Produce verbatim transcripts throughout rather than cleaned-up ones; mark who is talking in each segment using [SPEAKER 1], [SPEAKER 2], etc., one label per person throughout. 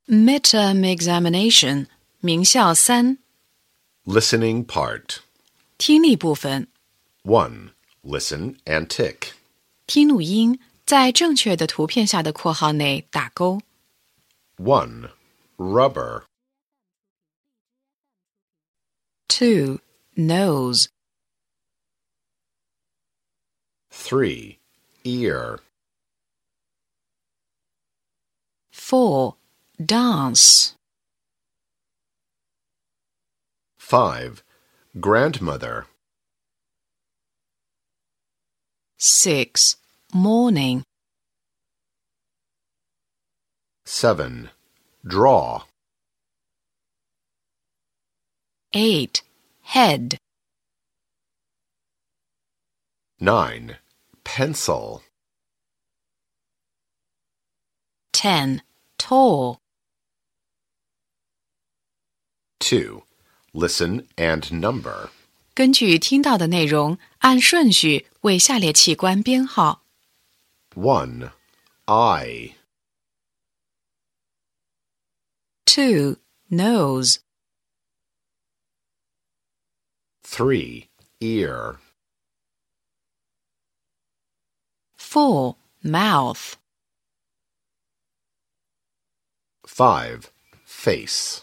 [SPEAKER 1] Midterm examination 名校三
[SPEAKER 2] Listening part.
[SPEAKER 1] 听力部分
[SPEAKER 2] one. Listen and tick.
[SPEAKER 1] 听录音，在正确的图片下的括号内打勾。
[SPEAKER 2] one. Rubber.
[SPEAKER 1] two. Nose.
[SPEAKER 2] three. Ear.
[SPEAKER 1] four. Dance.
[SPEAKER 2] five. Grandmother.
[SPEAKER 1] six. Morning.
[SPEAKER 2] seven. Draw.
[SPEAKER 1] eight. Head.
[SPEAKER 2] nine. Pencil.
[SPEAKER 1] ten. Tall.
[SPEAKER 2] two. Listen and number.
[SPEAKER 1] 根据听到的内容，按顺序为下列器官编号。
[SPEAKER 2] one. Eye.
[SPEAKER 1] two. Nose.
[SPEAKER 2] three. Ear.
[SPEAKER 1] four. Mouth.
[SPEAKER 2] five. Face.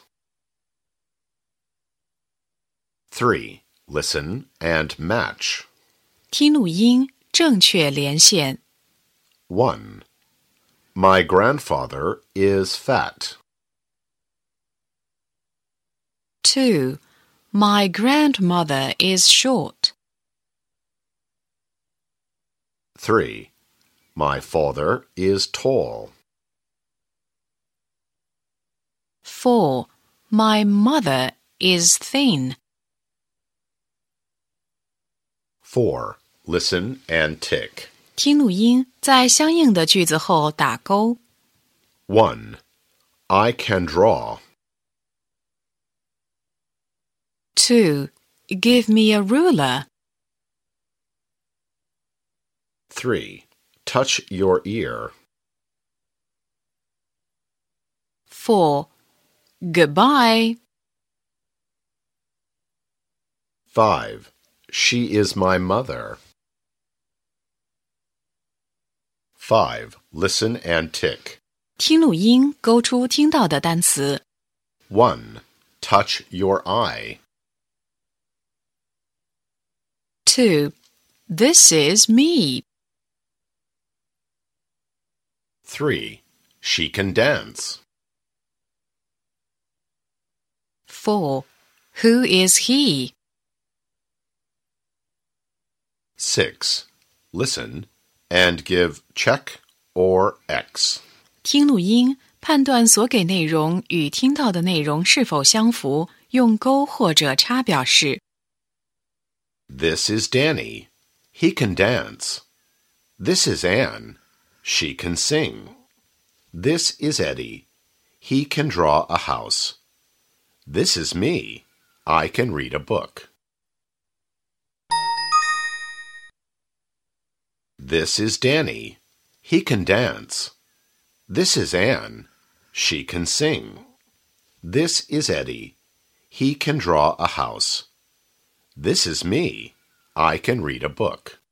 [SPEAKER 2] three. Listen and match.
[SPEAKER 1] 听录音，正确连线。
[SPEAKER 2] one. My grandfather is fat.
[SPEAKER 1] two. My grandmother is short.
[SPEAKER 2] three. My father is tall.
[SPEAKER 1] four. My mother is thin.
[SPEAKER 2] four. Listen and tick.
[SPEAKER 1] 听录音，在相应的句子后打勾。
[SPEAKER 2] one. I can draw.
[SPEAKER 1] two. Give me a ruler.
[SPEAKER 2] three. Touch your ear.
[SPEAKER 1] four. Goodbye.
[SPEAKER 2] five. She is my mother. five. Listen and tick.
[SPEAKER 1] 听录音，勾出听到的单词。
[SPEAKER 2] one. Touch your eye.
[SPEAKER 1] two. This is me.
[SPEAKER 2] three. She can dance.
[SPEAKER 1] four. Who is he?
[SPEAKER 2] six. Listen and give check or X.
[SPEAKER 1] 听录音，判断所给内容与听到的内容是否相符，用勾或者叉表示。
[SPEAKER 2] This is Danny. He can dance. This is Anne. She can sing. This is Eddie. He can draw a house. This is me. I can read a book. This is Danny. He can dance. This is Anne. She can sing. This is Eddie. He can draw a house. This is me. I can read a book.